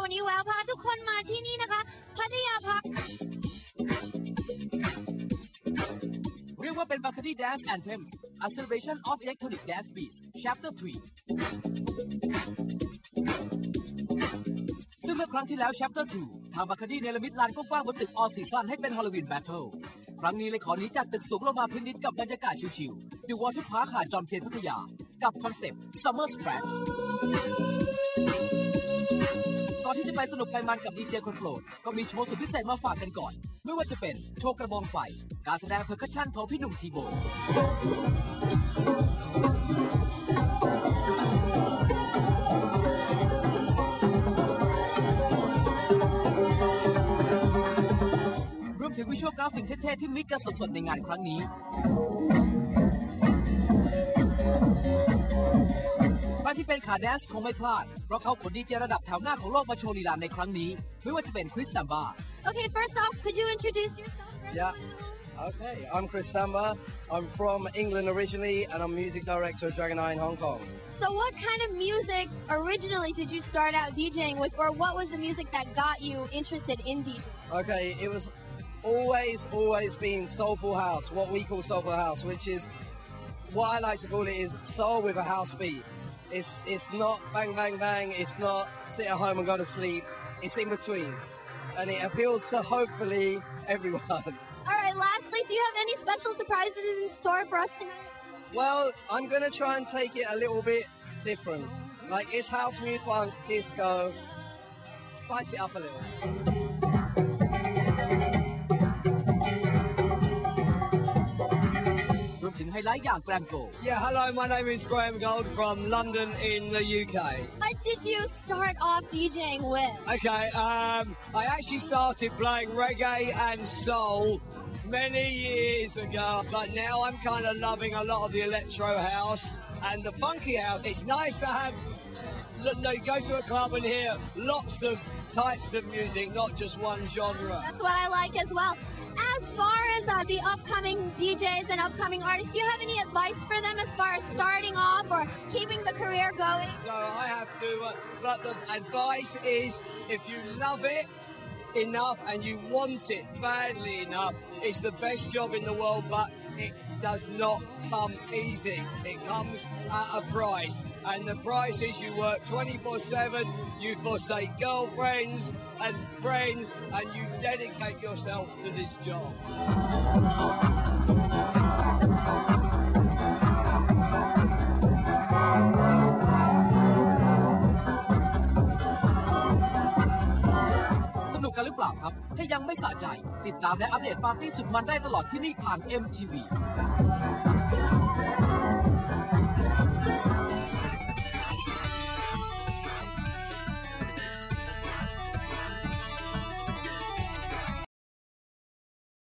วันนี้แววพาทุกคนมาที่นี่นะคะพัทยาพักเรียกว่าเป็น Bacardi Dance Anthems A Celebration of Electronic Dance Beats Chapter 3 ซึ่งเมื่อครั้งที่แล้ว Chapter 2 ทาง Bacardi เนรมิตลานกว้างๆบนตึก All Season ให้เป็น Halloween Battle ครั้งนี้เลยขอหนีจากตึกสูงลงมาพื้นดินกับบรรยากาศชิลๆ The Water Park หาดจอมเทียนพัทยากับคอนเซปต์ Summer Splash ก่อนที่จะไปสนุกไปมันกับดีเจคนโปรดก็มีโชว์สุดพิเศษมาฝากกันก่อนไม่ว่าจะเป็นโชว์กระบองไฟการแสดงเพอร์คัชชั่นของพี่หนุ่มทีโบรวมถึงวิชวลกราฟิกเท่ๆที่มิกกันสดๆในงานครั้งนี้ใครที่เป็นขาแดนซ์คงไม่พลาดเพราะเขาขนดีเจระดับแถวหน้าของโลกมาโชว์ลีลาในครั้งนี้ไม่ว่าจะเป็นคริสซัมบา Okay, first off, could you introduce yourself? Yeah. Okay, I'm Chris Samba. I'm from England originally, and I'm music director of Dragon Eye in Hong Kong. So what kind of music originally did you start out DJing with, or what was the music that got you interested in DJing? Okay, it was always been soulful house, what we call soulful house, which is, what I like to call it is soul with a house beat. It's not bang, bang, bang, it's not sit at home and go to sleep, it's in between. And it appeals to hopefully everyone. Alright, lastly, do you have any special surprises in store for us tonight? Well, I'm going to try and take it a little bit different. Like, it's house music, funk, disco. Spice it up a little. Yeah, hello, my name is Graham Gold from London in the UK. What did you start off DJing with? Okay, I actually started playing reggae and soul many years ago, but now I'm kind of loving a lot of the electro house and the funky house. It's nice to have, you go to a club and hear lots of types of music, not just one genre. That's what I like as well. As far as the upcoming DJs and upcoming artists, do you have any advice for them as far as starting off or keeping the career going? No, I have to, but the advice is if you love it enough and you want it badly enough, it's the best job in the world, but it does not come easy. It comes at a price, and the price is you work 24/7, you forsake girlfriends and friends, and you dedicate yourself to this job. สนุกกันหรือเปล่าครับถ้ายังไม่สะใจติดตามและอัปเดตปาร์ตี้สุดมันได้ตลอดที่นี่ทาง MTV